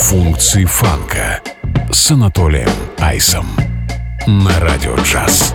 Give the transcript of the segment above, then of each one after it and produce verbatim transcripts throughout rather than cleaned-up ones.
Функции фанка с Анатолием Айсом на Радио Джаз.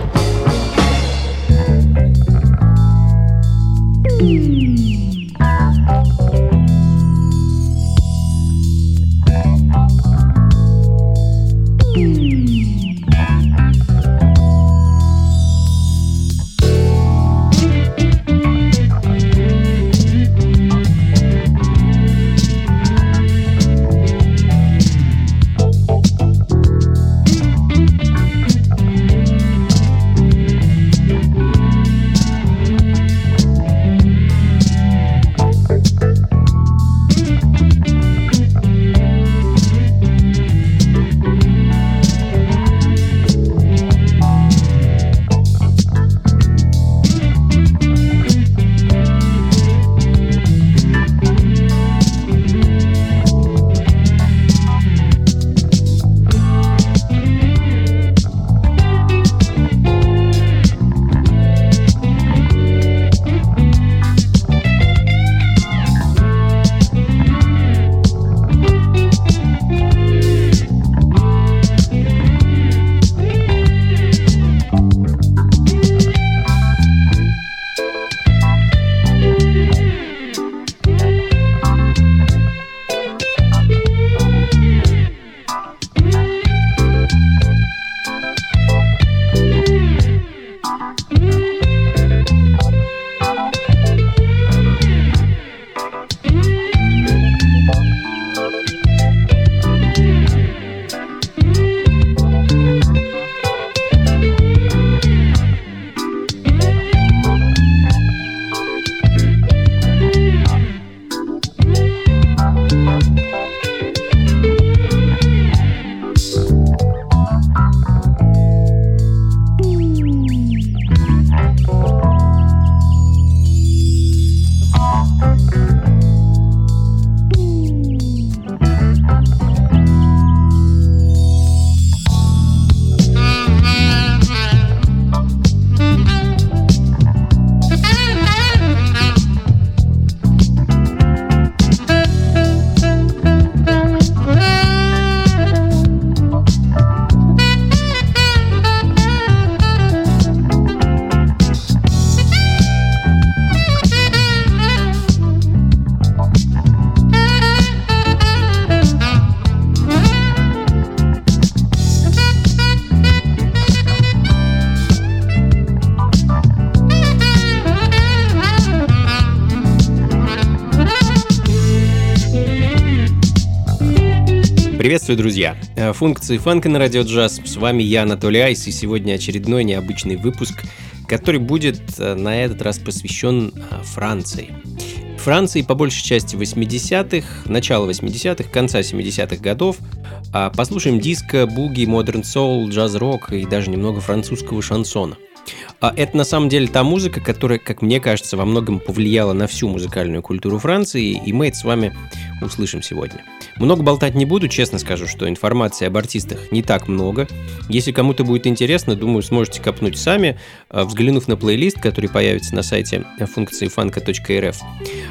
Приветствую, друзья! Функции фанка на Радио Джаз. С вами я, Анатолий Айс, и сегодня очередной необычный выпуск, который будет на этот раз посвящен Франции. Франции по большей части восьмидесятых, начала восьмидесятых, конца семидесятых годов. Послушаем диско, буги, модерн соул, джаз-рок и даже немного французского шансона. Это на самом деле та музыка, которая, как мне кажется, во многом повлияла на всю музыкальную культуру Франции, и мы это с вами услышим сегодня. Много болтать не буду, честно скажу, что информации об артистах не так много. Если кому-то будет интересно, думаю, сможете копнуть сами, взглянув на плейлист, который появится на сайте функции фанка точка эр эф.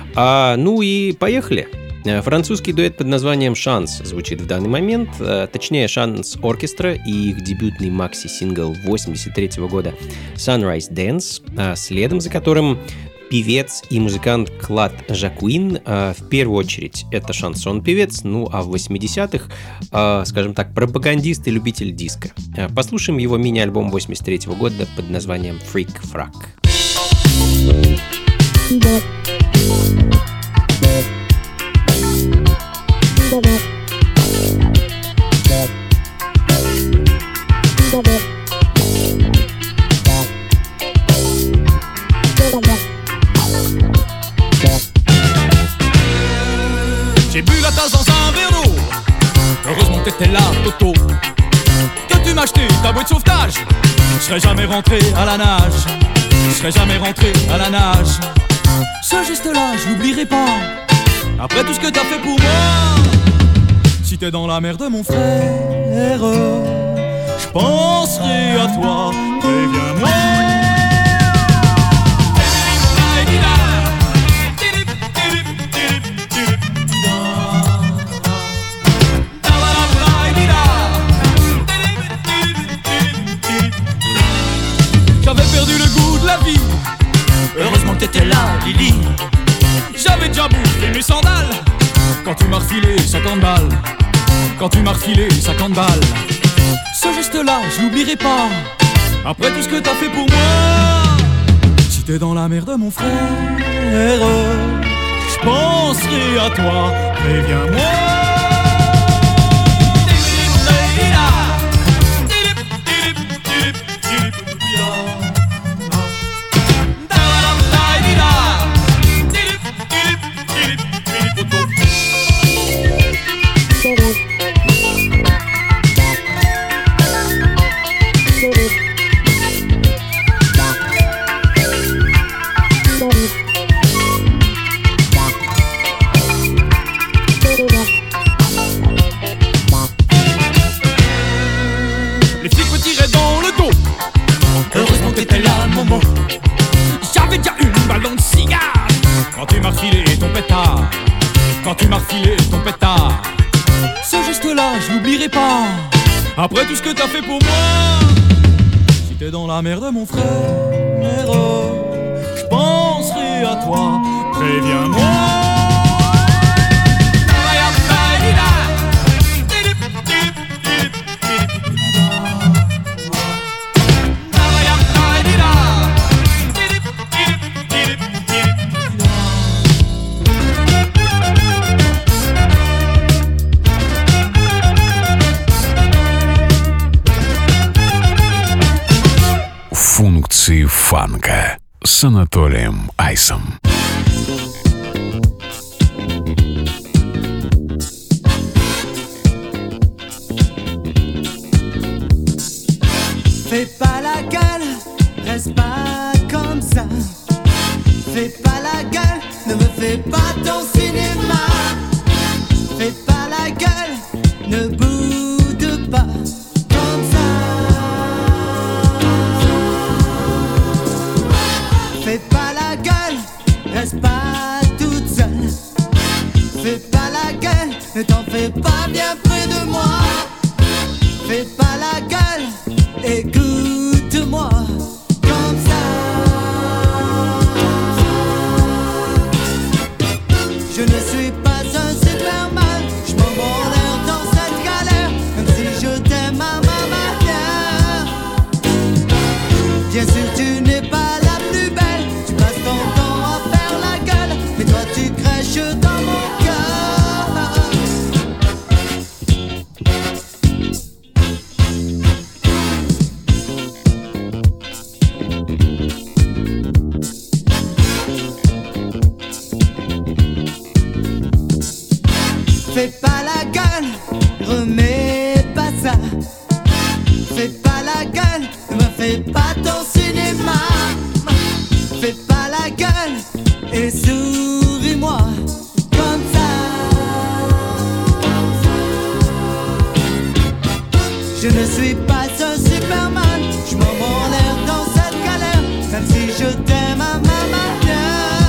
А, ну и поехали! Французский дуэт под названием «Шанс» звучит в данный момент, точнее «Шанс Оркестра» и их дебютный макси-сингл восемьдесят третьего года «Sunrise Dance», следом за которым певец и музыкант Клад Жакуин. В первую очередь это шансон-певец, ну а в восьмидесятых, скажем так, пропагандист и любитель диска. Послушаем его мини-альбом восемьдесят третьего года под названием «Freak Frack». J'ai bu la tasse dans un verre d'eau. Heureusement que t'étais là, Toto. Que tu m'as acheté ta bouée de sauvetage. Je serais jamais rentré à la nage. Je serais jamais rentré à la nage. Ce geste-là, je l'oublierai pas. Après tout ce que t'as fait pour moi. Si t'es dans la merde, mon frère, je penserai à toi. Préviens-moi. m'as refilé cinquante balles, quand tu m'as refilé cinquante balles. Ce geste-là, je l'oublierai pas, après tout ce que t'as fait pour moi. Si t'es dans la merde, mon frère, je penserai à toi, préviens-moi. Quand tu m'as refilé ton pétard, ce geste-là, je l'oublierai pas, après tout ce que t'as fait pour moi. Si t'es dans la merde, mon frère, je penserai à toi, préviens-moi. Функции фанка с Анатолием Айсом. Fais pas la gueule, reste pas comme ça. Fais pas la gueule, ne me fais pas ton cinéma. Fais pas la gueule, ne boude pas comme ça. Fais pas la gueule, reste pas toute seule. Fais pas la gueule, ne t'en fais pas bien près de moi. Fais pas la gueule, écoute-moi comme ça. Je ne suis pas un Superman, je m'en l'air dans cette galère, même si je t'aime à ma manière. Bien sûr tu n'es pas la plus belle, tu passes ton temps à faire la gueule, mais toi tu crèches dans mon cœur. Fais pas la gueule, remets pas ça. Fais pas la gueule, ne me fais pas ton cinéma. Fais pas la gueule et souris-moi comme ça. Je ne suis pas un Superman, je m'en l'air dans cette galère, même si je t'aime à ma manière.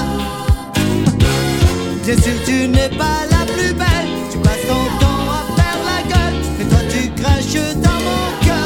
Bien sûr tu n'es pas la plus belle, tu passes ton temps à faire la gueule, mais toi tu craches dans mon cœur.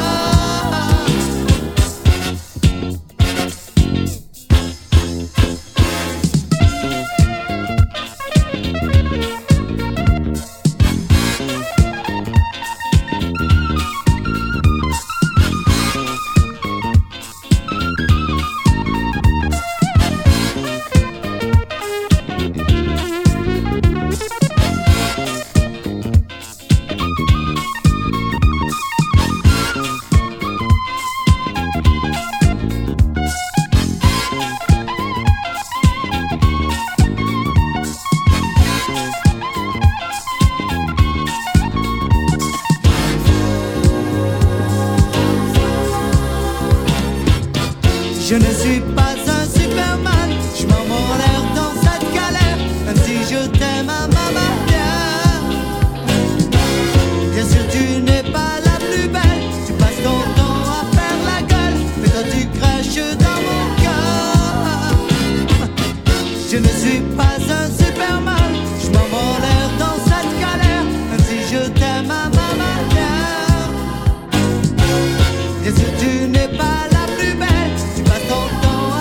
Je ne suis pas un Superman, je m'en l'air dans cette galère, même si je t'aime à ma manière. Bien sûr tu n'es pas la plus belle, tu passes ton temps à faire la gueule, mais toi tu craches dans mon cœur. Je ne suis pas un Superman, je m'en l'air dans cette galère, même si je t'aime à ma manière. Bien sûr tu n'es pas la plus belle, tu passes ton temps à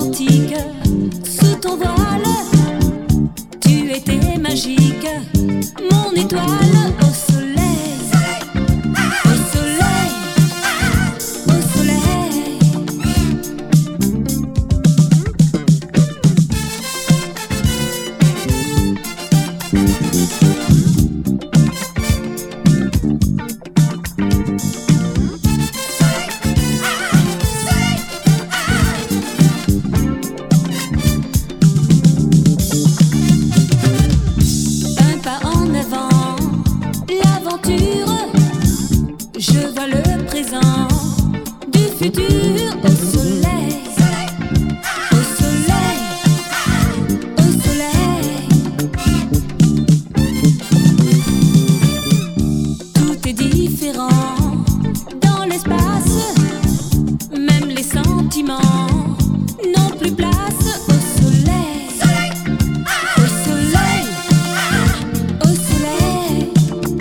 romantique. Sous ton voile, tu étais magique, mon étoile au soleil, au soleil, au soleil. Un pas en avant, l'aventure. Je vois le présent du futur au soleil, au soleil, au soleil. Tout est différent dans l'espace, même les sentiments n'ont plus place au soleil, au soleil, au soleil.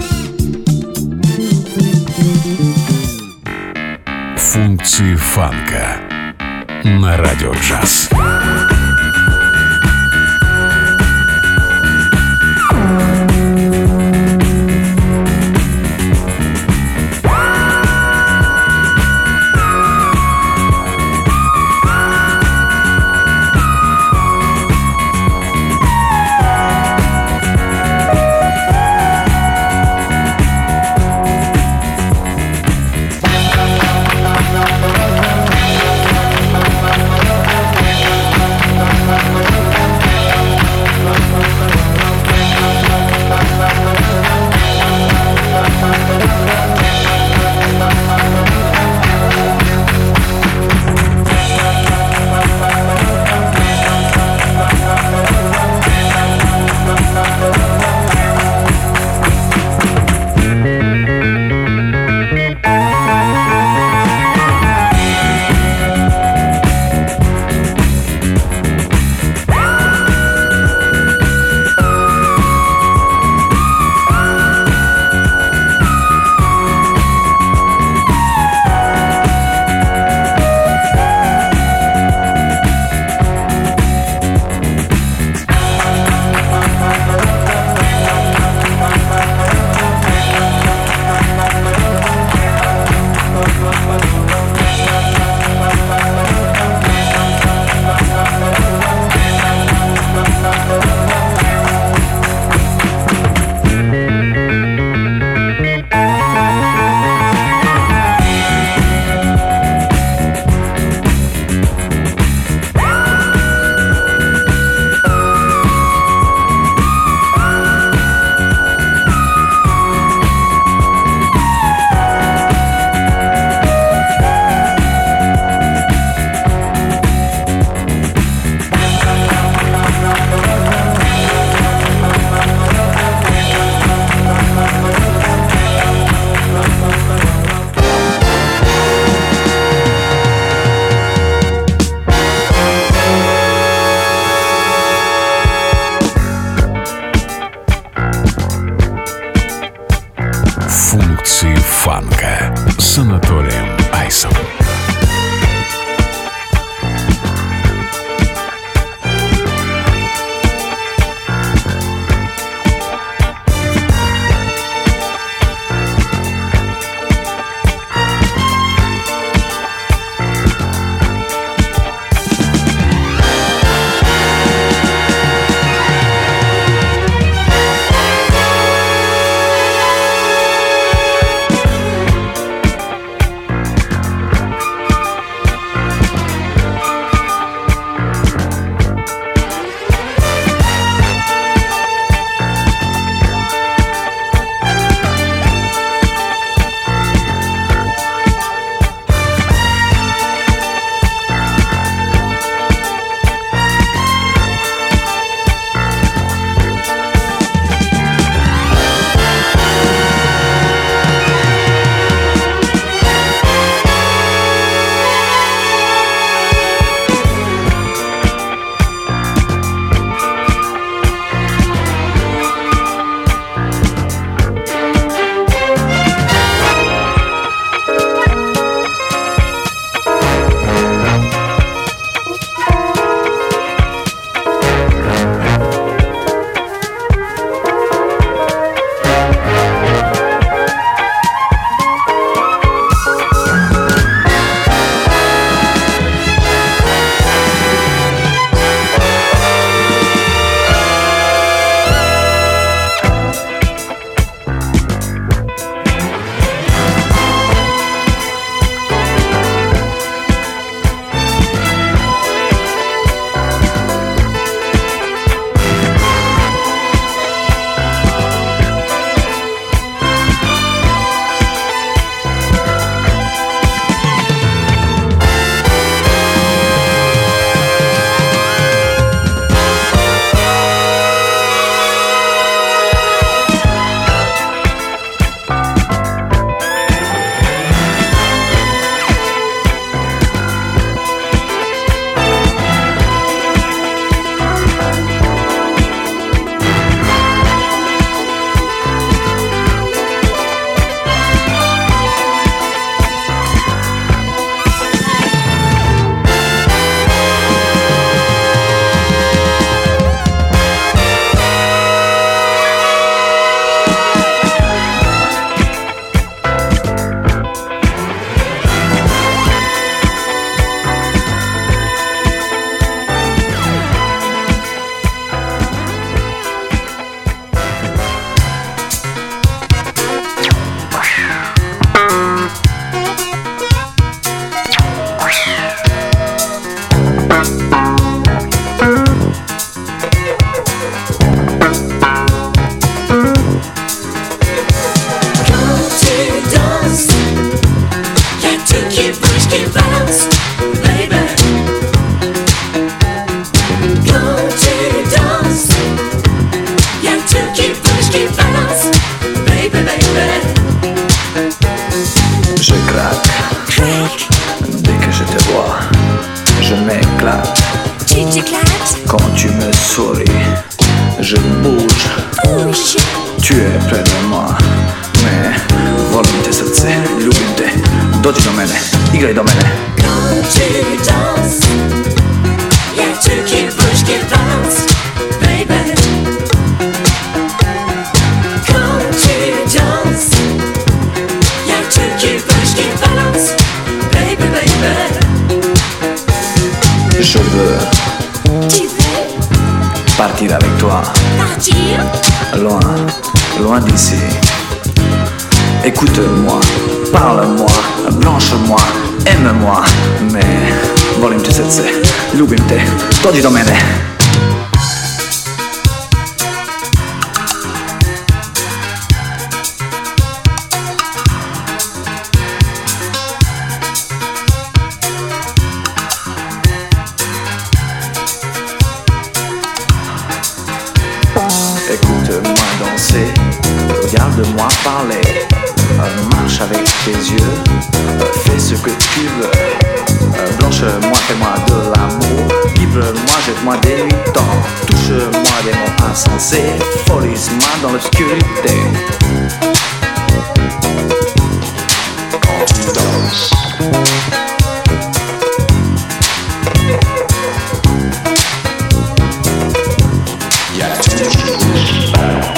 Функции фанка на Радио Джаз. m'éclate. Tu t'éclates, Quand tu me souris, je bouge. bouge. Tu es près de moi, mais volim te srce, ljubim te. Dođi do mene, igraj do mene. Quand tu danses, y'a tout qui bouge, qui danse, baby. Quand tu danses, y'a tout qui bouge, qui balance, baby, baby. Je veux Tu veux partir avec toi, partir? loin, loin d'ici. Écoute-moi, parle-moi, blanche-moi, aime-moi, mais volim te srce, ljubim te, dođi do mene. Écoute-moi danser, regarde-moi parler, euh, marche avec tes yeux, euh, fais ce que tu veux. Euh, Blanche-moi, fais-moi de l'amour, livre-moi, jette-moi des temps, touche-moi des mots insensés, folise-moi dans l'obscurité. Quand tu danses, y a tout qui bouge.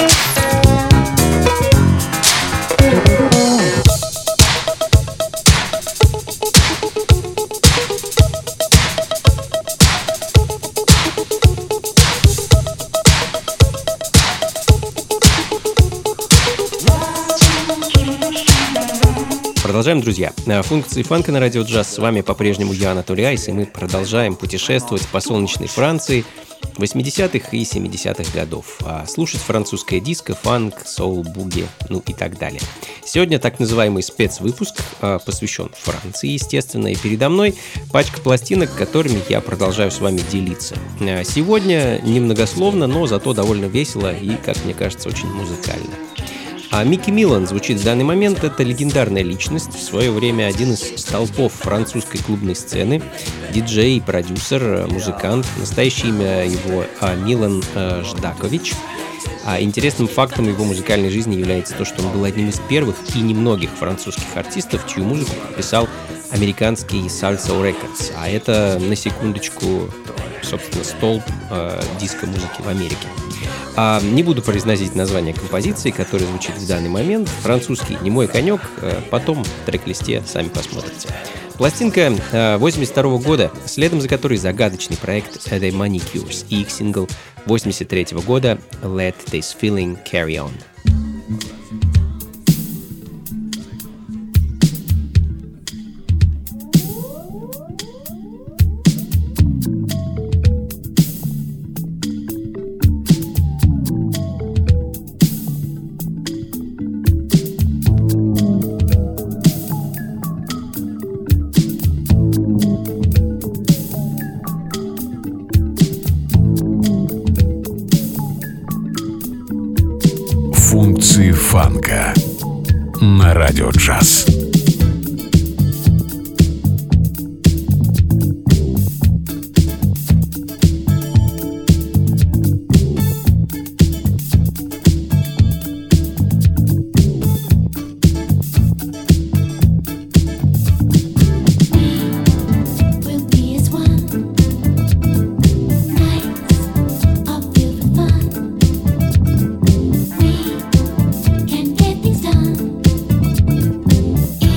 Продолжаем, друзья. Функции фанка на радио джаз. С вами по-прежнему я, Анатолий Айс, и мы продолжаем путешествовать по солнечной Франции восьмидесятых и семидесятых годов, а слушать французское диско, фанк, соул, буги, ну и так далее. Сегодня так называемый спецвыпуск посвящен Франции, естественно, и передо мной пачка пластинок, которыми я продолжаю с вами делиться. Сегодня немногословно, но зато довольно весело и, как мне кажется, очень музыкально. А Микки Миллан звучит в данный момент. Это легендарная личность, в свое время один из столпов французской клубной сцены, диджей, продюсер, музыкант. Настоящее имя его Милан Ждакович. А интересным фактом его музыкальной жизни является то, что он был одним из первых и немногих французских артистов, чью музыку подписал американский Salsoul Records. А это, на секундочку, собственно, столб э, диско-музыки в Америке. А не буду произносить название композиции, которая звучит в данный момент. Французский не мой конек, потом в трек-листе сами посмотрите. Пластинка восемьдесят второго года, следом за которой загадочный проект The Manicures и их сингл восемьдесят третьего года Let This Feeling Carry On. Функции фанка на радио джаз. We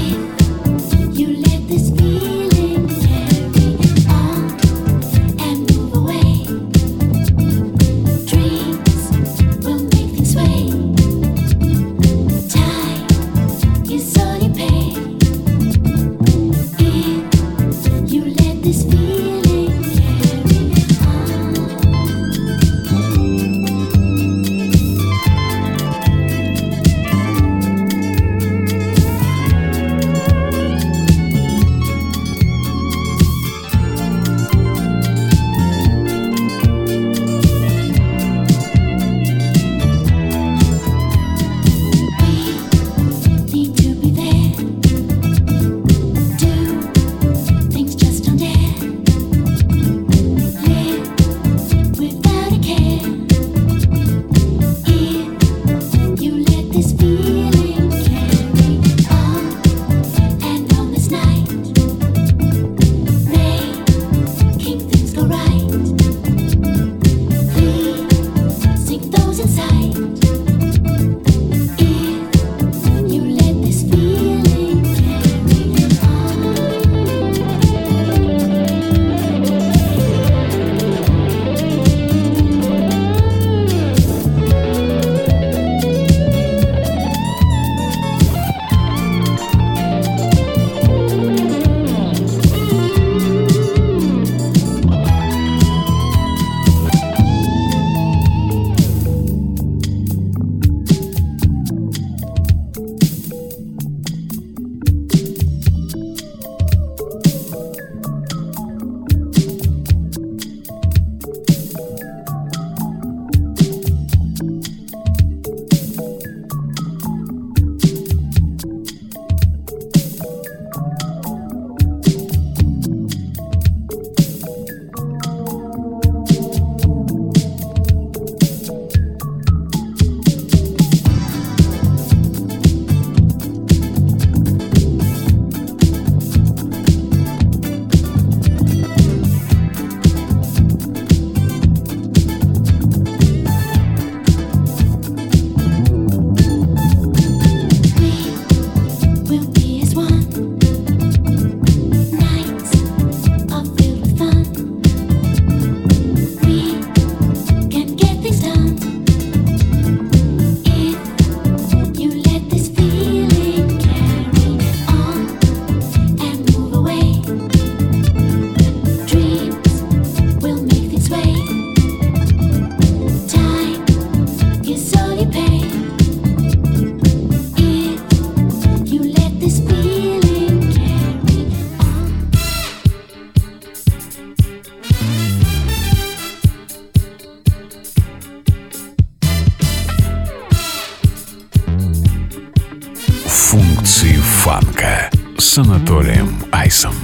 фанка с Анатолием Айсом.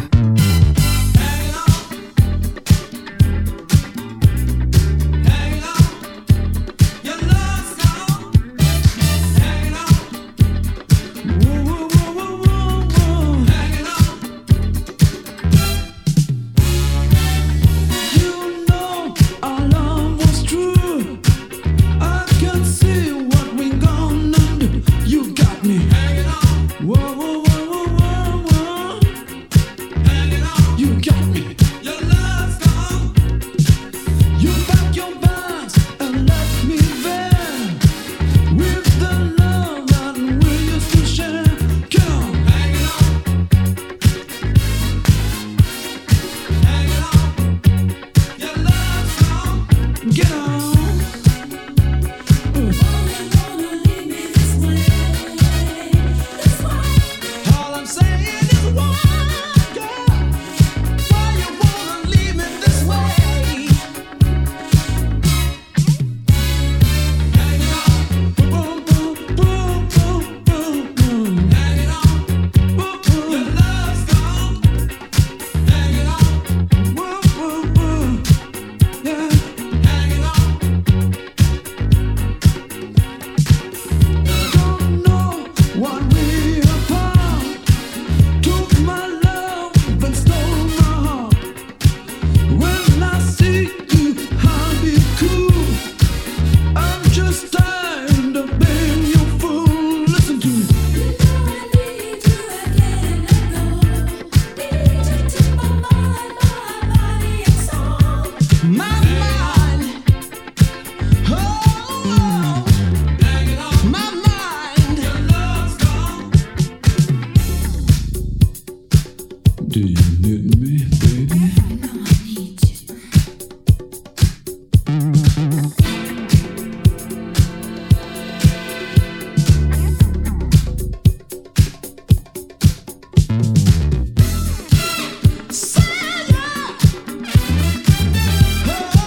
Oh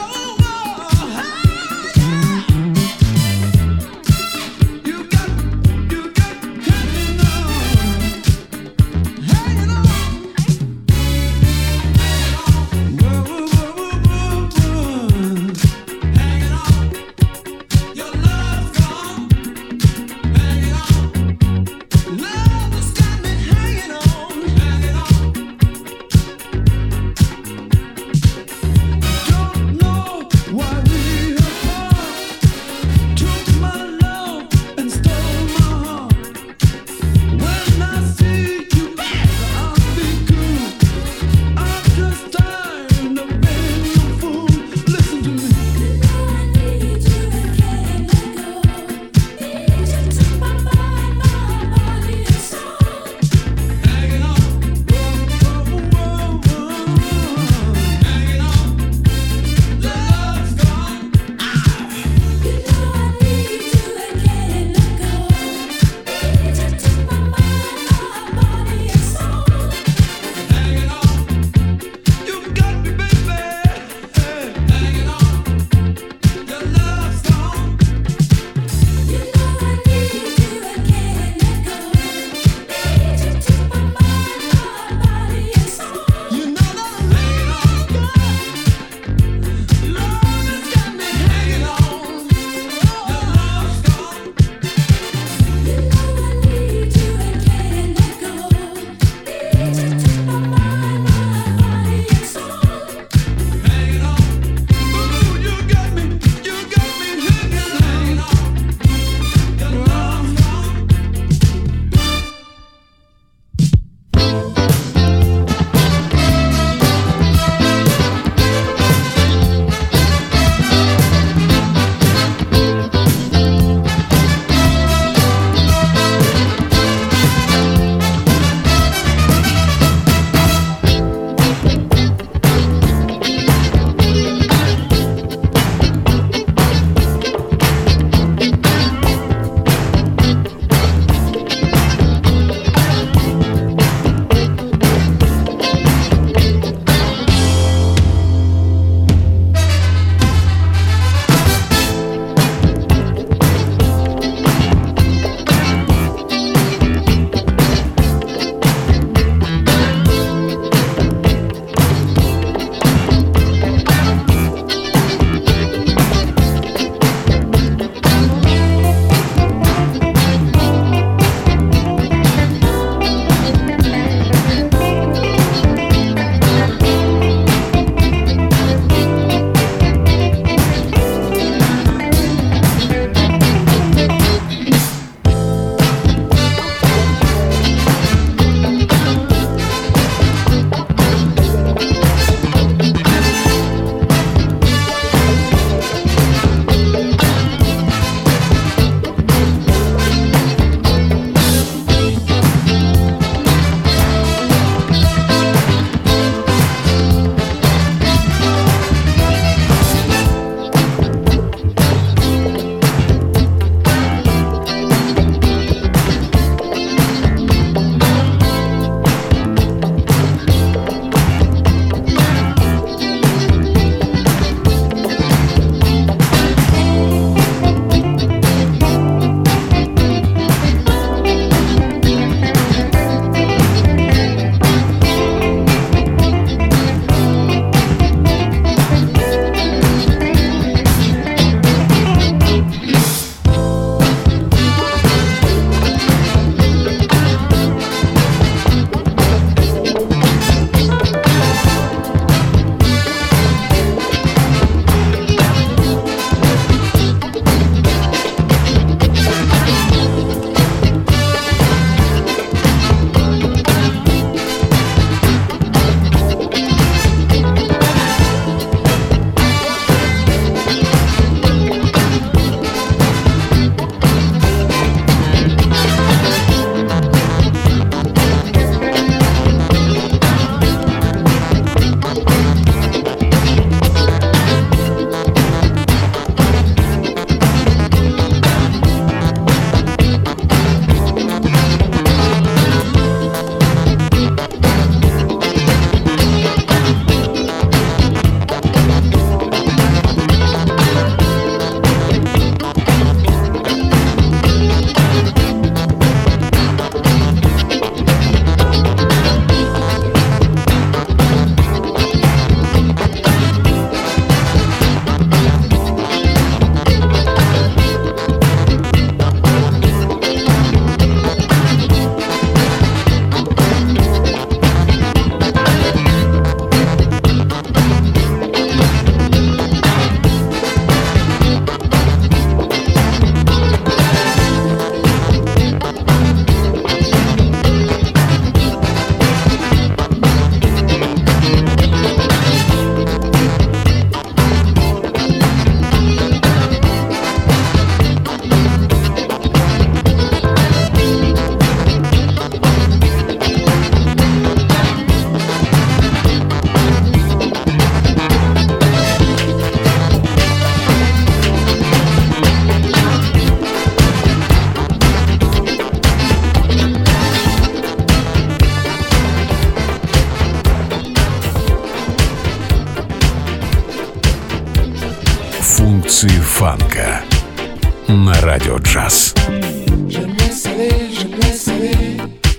Функции фанка на Радио Джаз. J'aime laisse aller, j'aime laisse aller.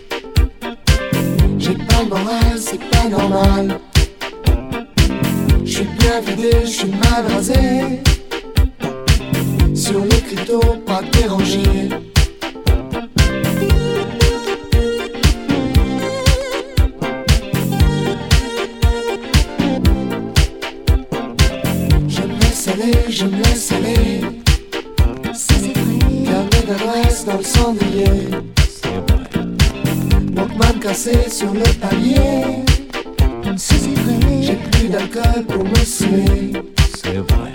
J'ai pas le moral, c'est pas normal. J'suis bien vidé, j'suis mal rasé. Sur les cryptos, pas dérangé. Je me laisse aller, je me laisse aller. Carnet d'adresse dans le cendrier. Walkman cassé sur le palier. J'ai plus d'alcool pour me saouler. C'est vrai.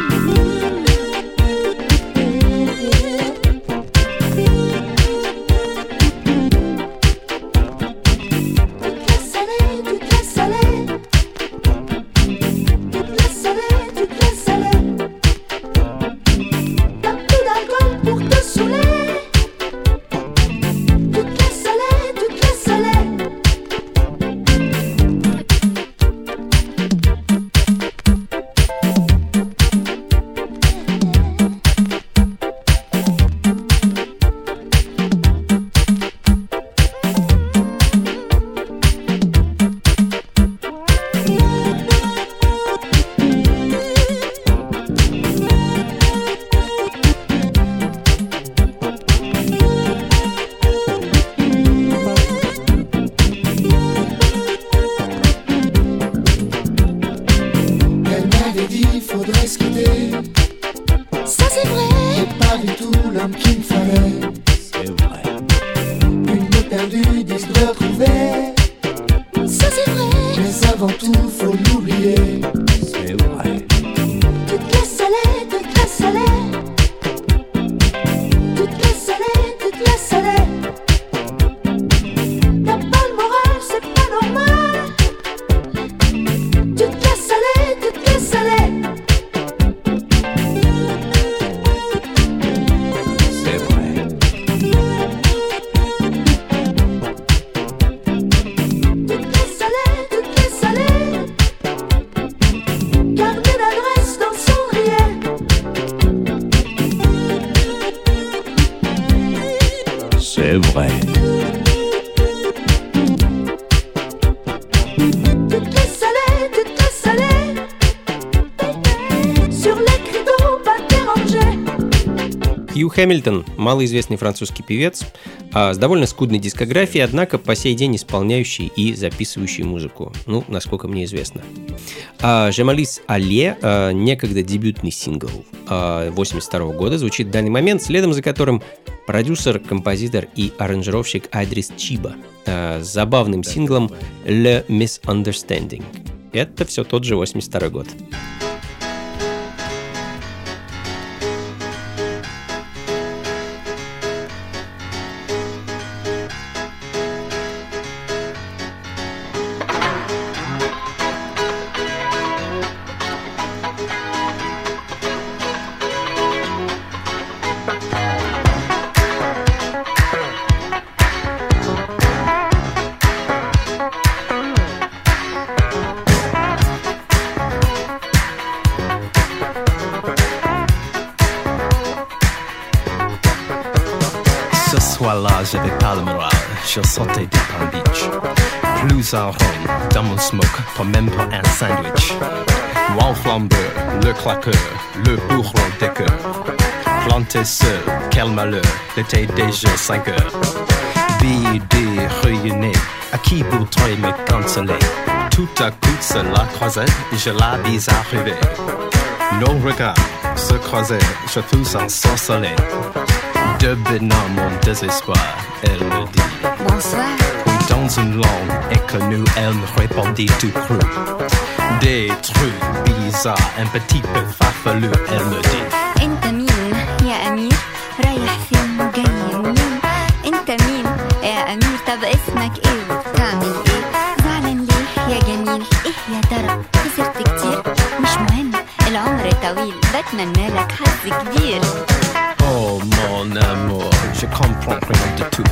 Хью Хэмилтон – малоизвестный французский певец а, с довольно скудной дискографией, однако по сей день исполняющий и записывающий музыку, ну, насколько мне известно. А, «Je m'appelle Алле» а, некогда дебютный сингл а, восемьдесят второго года, звучит в данный момент, следом за которым продюсер, композитор и аранжировщик Идрис Чиба а, с забавным синглом «Le Misunderstanding». Это все тот же восемьдесят второй год. Là, j'avais pas le moral, je sortais du Palm Beach. Plus un rhum dans mon smoke, pas même pas un sandwich. Moi flambeur, le claqueur, le bourreau des cœurs. Planté seul, quel malheur, l'été déjà cinq heures. Vidé, réunis, à qui voudrait me canceller? Tout à coup, cela croisait, je la vis arriver. Nos regards se croisaient, je fus ensorcelé. Devinant mon désespoir, elle me dit bonsoir. Puis dans une langue inconnue, elle me répondit tout cru. Des trucs bizarres, un petit peu farfelu, elle me dit انت مين يا امير رايح فين وجاي منين انت مين يا امير طب اسمك ايه وبتعمل ايه زعلان ليه يا جميل ايه يا ترى خسرت كتير مش مهم العمر طويل بتمنى لك حظ كبير. Oh mon amour, je comprends rien du tout.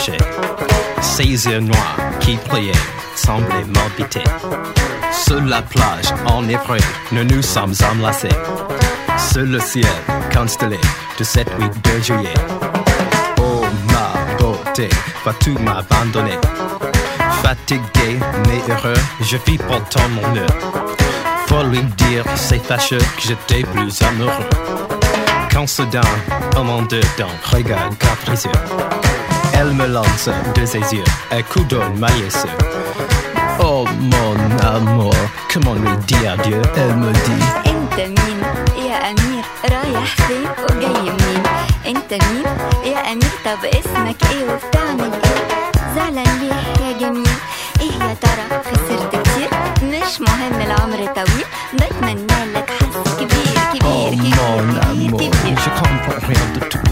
nager. Ses yeux noirs qui priaient semblaient m'habiter. Sur la plage, enivrés, nous nous sommes enlacés. Sur le ciel constellé de cette nuit de juillet. Oh ma beauté, vas-tu m'abandonner? Fatigué mais heureux, je vis pourtant mon heure. Pour lui dire c'est fâcheux que j'étais plus amoureux. Quand soudain, au monde dedans, regarde capricieux. Elle me lance de ses yeux un coup d'eau maillesseux. Oh mon amour, comment lui dire adieu? Elle me dit انت مين يا امير رايح فين وجاي منين؟ انت مين يا امير طب اسمك ايه وبتعمل ايه؟ زعلان ليه يا جميل؟ ايه يا ترى خسرت كتير؟ مش مهم العمر طويل بتمنى لك حظ كبير كبير Oh كبير mon amour, كبير كبير. je comprends rien de tout.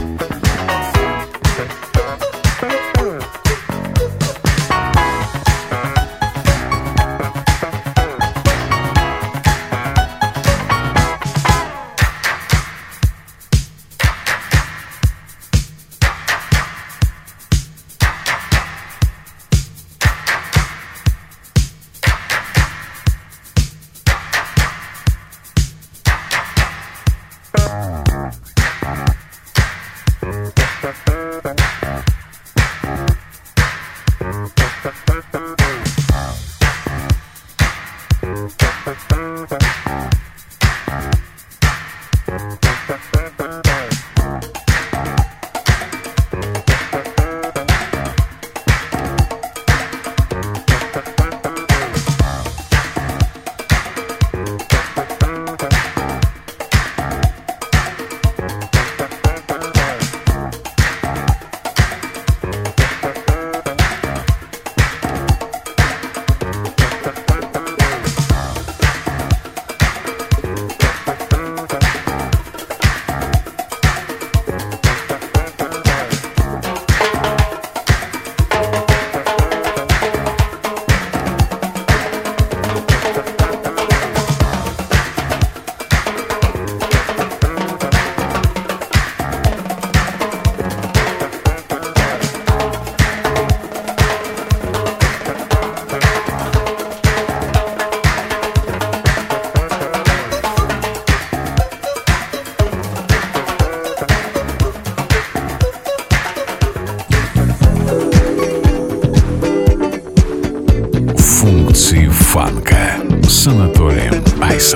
Функции фанка с Анатолием Айсом.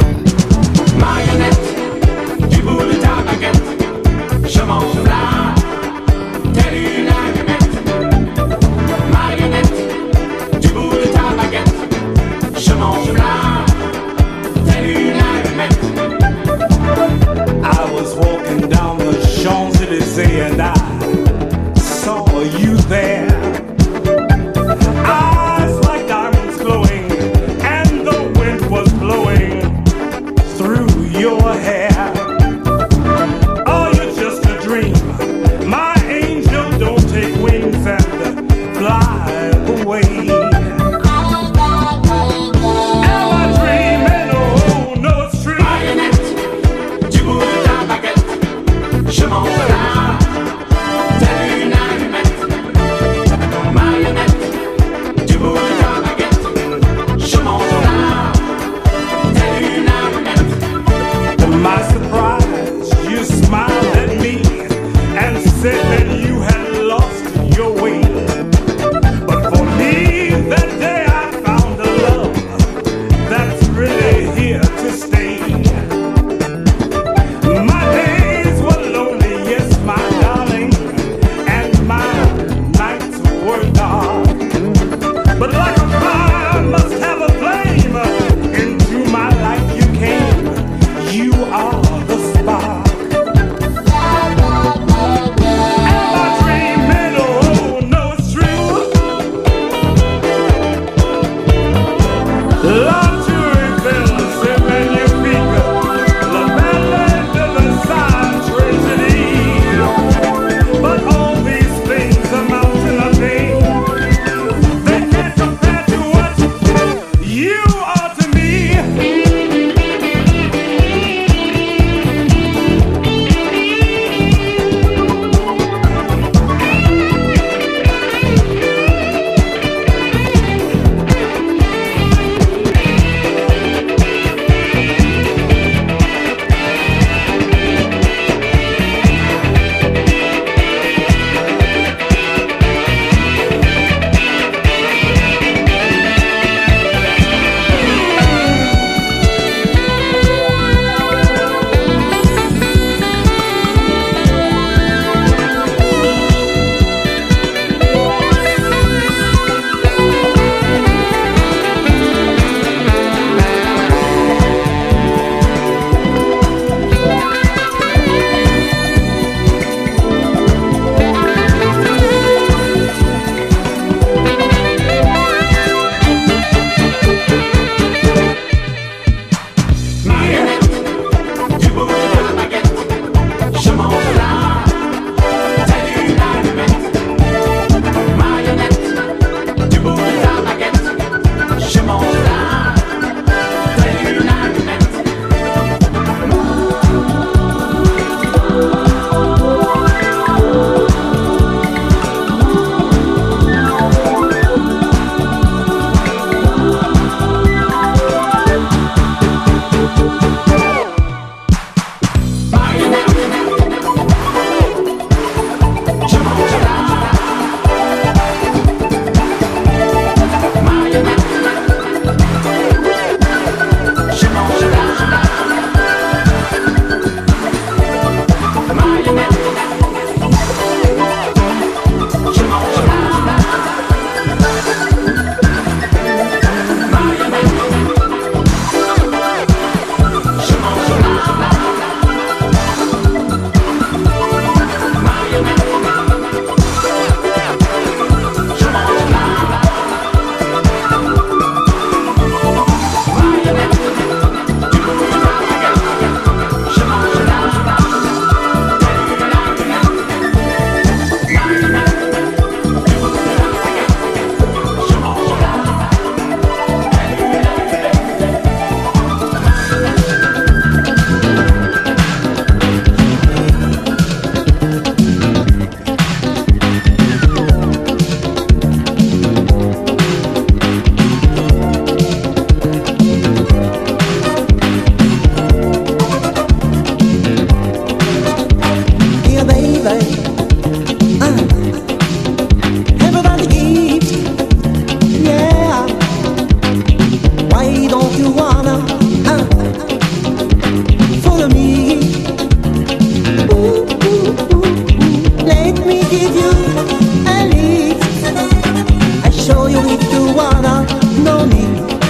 I was walking down the Champs-Élysées and I saw you there. Eyes like diamonds glowing, and the wind was blowing through your hair. Oh, you're just a dream. My angel, don't take wings and fly away. Am I dreaming? Oh, no, it's true. Je m'en vais là, telle une allumette. Marionnette, du bout de ta baguette. Je m'en vais là, telle une allumette. To my surprise, you smiled at me and said that you had lost your way. But for me, that day I found a love that's really here to stay. My days were lonely, yes, my darling, and my nights were dark. But like a fire must have a flame, into my life you came. You are the spark. Am I dreaming? Oh, no, it's true. Love to reveal, c'est magnifique. La belle de Versailles tragedy. But all these things amount to nothing. They can't compare to what you are to me. don't you wanna uh, follow me? Ooh, ooh, ooh, ooh. Let me give you a lift. I show you if you wanna know me.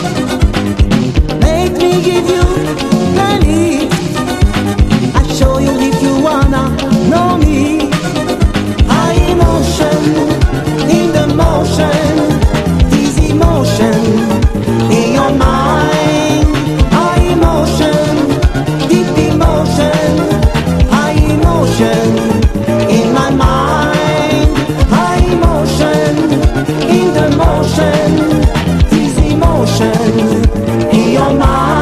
Let me give you a lift. I show you if you wanna know me. High emotion in the motion, this emotion in your mind. High emotion, deep emotion, high emotion in my mind. High emotion in the motion, this emotion in your mind.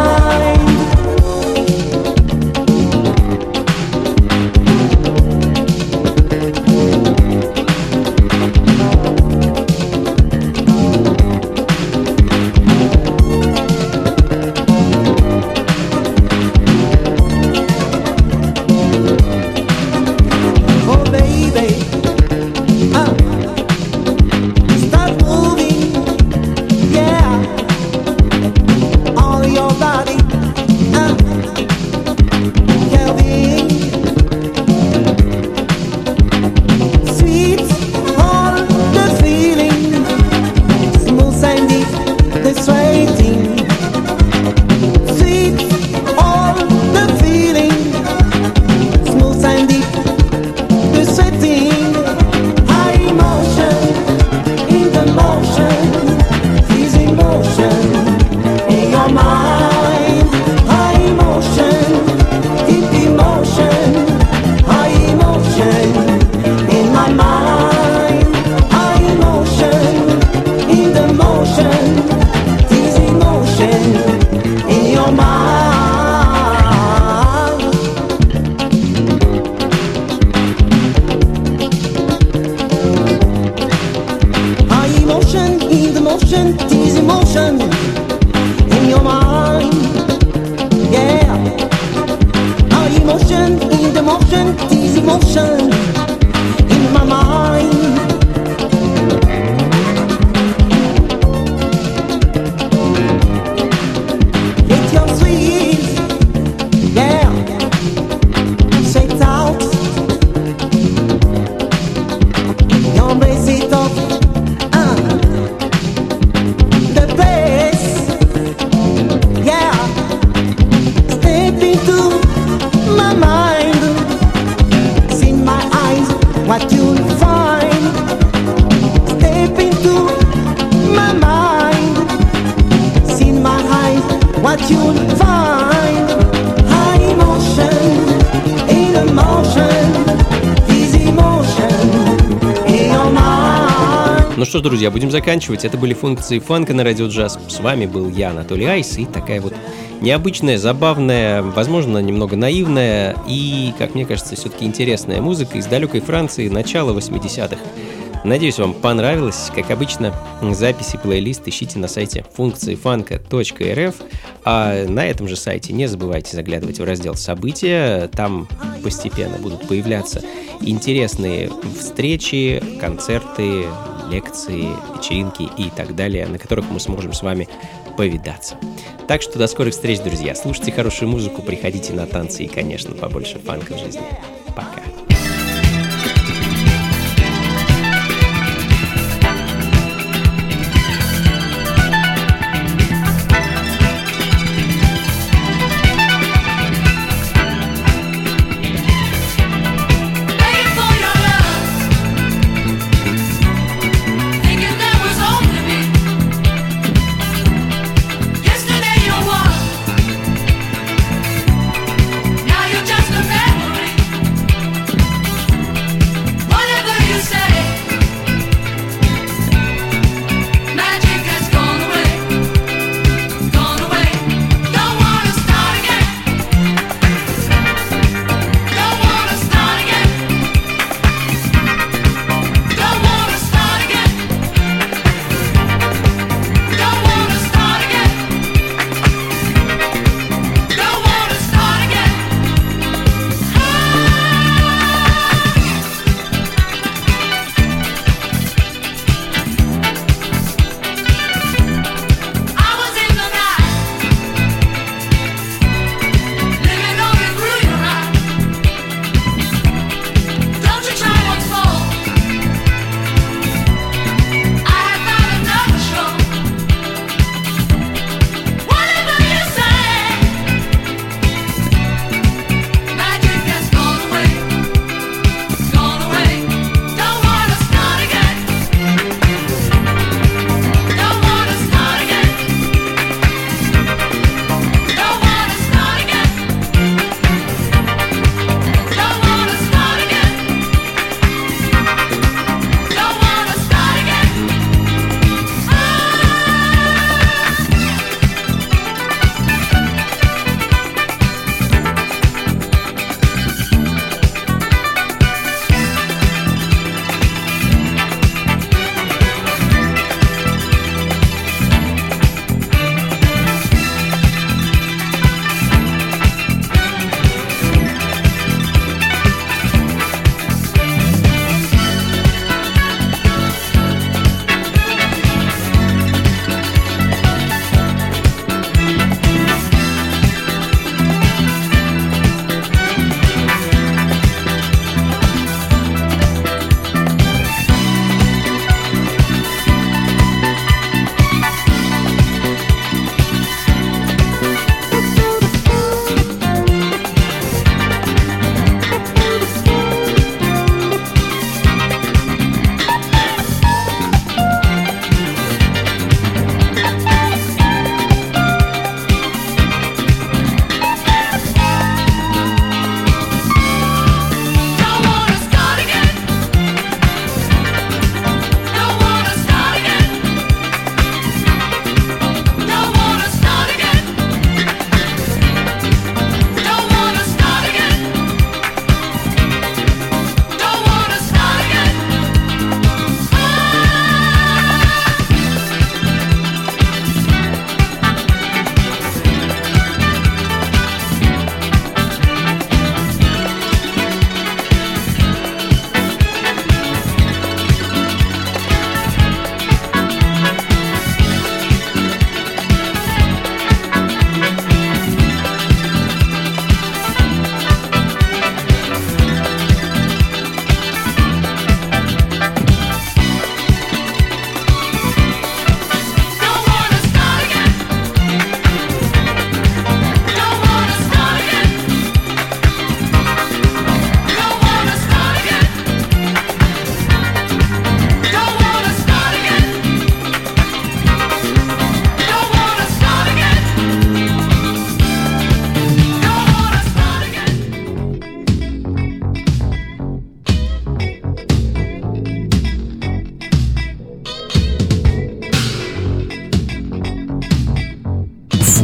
Oh baby, uh, start moving, yeah, all your body, uh, Kelvin, sweet, all the feeling, smooth and deep, the sweating, sweet, all the feeling, smooth and deep, the sweating, high emotion in the motion, this emotion in your mind. High emotion, deep emotion, high emotion in my mind. High emotion in the motion, this emotion in your mind. High emotion in the motion, this emotion in your mind. Yeah. High emotion in the motion, this emotion in my mind. Get your sweet, yeah. Say it out. Embrace it off. Uh, the place, yeah. Step into my mind. See in my eyes what you'll find. Step into my mind. See in my eyes what you'll find. High emotion in emotion, this emotion in your mind. Ну что ж, друзья, будем заканчивать. Это были функции фанка на радио джаз. С вами был я, Анатолий Айс, и такая вот необычная, забавная, возможно, немного наивная и, как мне кажется, все-таки интересная музыка из далекой Франции начала восьмидесятых. Надеюсь, вам понравилось. Как обычно, записи, плейлист ищите на сайте функции фанка точка эр эф. А на этом же сайте не забывайте заглядывать в раздел «События». Там постепенно будут появляться интересные встречи, концерты, лекции, вечеринки и так далее, на которых мы сможем с вами повидаться. Так что до скорых встреч, друзья. Слушайте хорошую музыку, приходите на танцы и, конечно, побольше фанка в жизни. Пока. Now you're just a memory.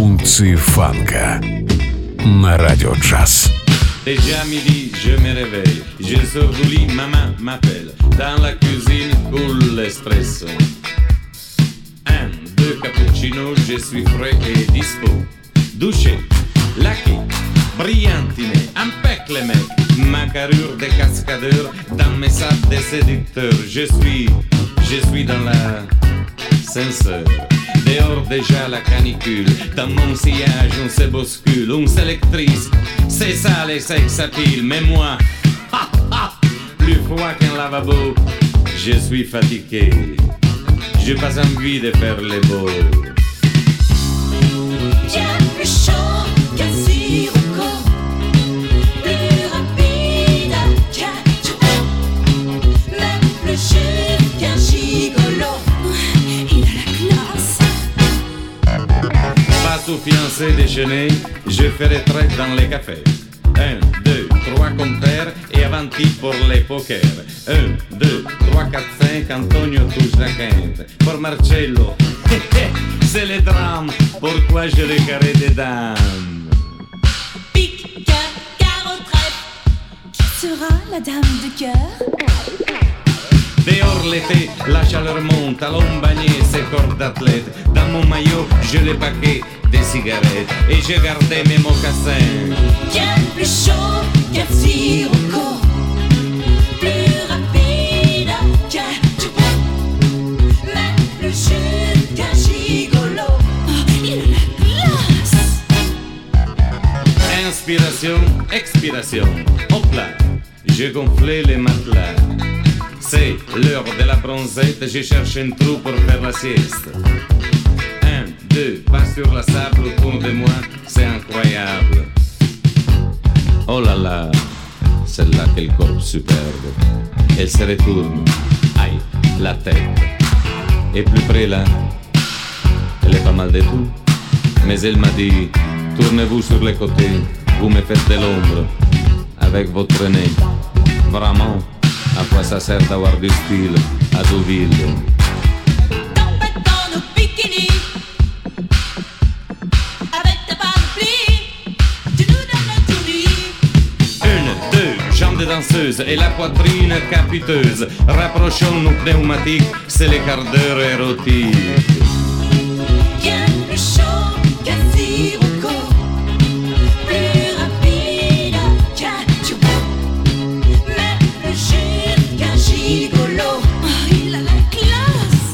Функции фанка на Радио Джаз. Déjà midi, je me réveille. Je sors du lit, maman m'appelle. Dans la cuisine coule l'espresso. Un, deux cappuccino, je suis frais et dispo. Douché, laqué, brillantiné, impec les mecs. Ma carrure de cascadeur dans mes sacs de séducteur. Je suis, je suis dans la censeur. Dehors déjà la canicule. Dans mon sillage on se bouscule. On s'électrise, c'est ça les sex appeal. Mais moi, ha, ha, plus froid qu'un lavabo. Je suis fatigué. J'ai pas envie de faire les beaux. Bien plus chaud qu'un sirocco, plus rapide qu'un chouchou, même plus cher qu'un gigolo. Il a la classe. Pas tout fiancé déjeuner, je fais retraite dans les cafés. Un, deux, trois compères et avanti pour les pokers. Un, deux, trois, quatre, cinq, Antonio touche la quinte. Pour Marcello, c'est le drame. Pourquoi je le carré des dames? Pique, cœur, carreau, trèfle. Qui sera la dame de cœur? Dehors l'été, la chaleur monte, allons bagner ces corps d'athlète. Dans mon maillot, je les paquets des cigarettes et j'ai gardé mes mocassins. Bien plus chaud qu'un sirocco, plus rapide qu'un chouchou, même plus cher qu'un gigolo. Oh, il a la classe. Inspiration, expiration, hop là, j'ai gonflé les matelas. C'est l'heure de la bronzette, je cherche un trou pour faire la sieste. Un, deux, pas sur la sable autour de moi, c'est incroyable. Oh là là, celle-là, quel corps superbe. Elle se retourne, aïe, la tête. Et plus près là, elle est pas mal de tout. Mais elle m'a dit, tournez-vous sur les côtés, vous me faites de l'ombre. Avec votre nez, vraiment. À quoi ça sert d'avoir du style à Deauville? Tempête dans nos bikinis, avec ta panoplie, tu nous donnes la tournie. Une, deux, jambes de danseuse et la poitrine capiteuse. Rapprochons nos pneumatiques, c'est les quarts d'heure érotiques. Bien plus chaud qu'un sirocco, plus rapide qu'un chouchou, même plus cher qu'un gigolo. Oh, il a la classe.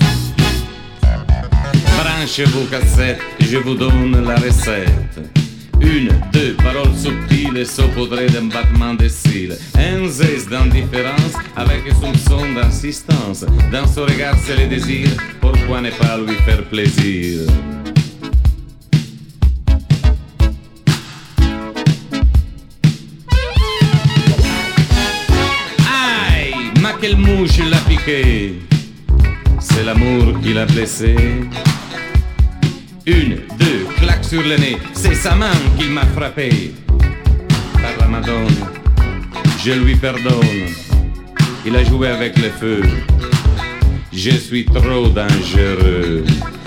Branchez vos cassettes, je vous donne la recette. Une, deux, paroles subtiles et saupoudrées d'un battement de cils. Un zeste d'indifférence avec un soupçon d'insistance. Dans son regard c'est le désir, pourquoi ne pas lui faire plaisir? Aïe, ma quelle mouche l'a piqué. C'est l'amour qui l'a blessé. Une, deux, claque sur le nez, c'est sa main qui m'a frappé. Par la Madone, je lui pardonne. Il a joué avec le feu. Je suis trop dangereux.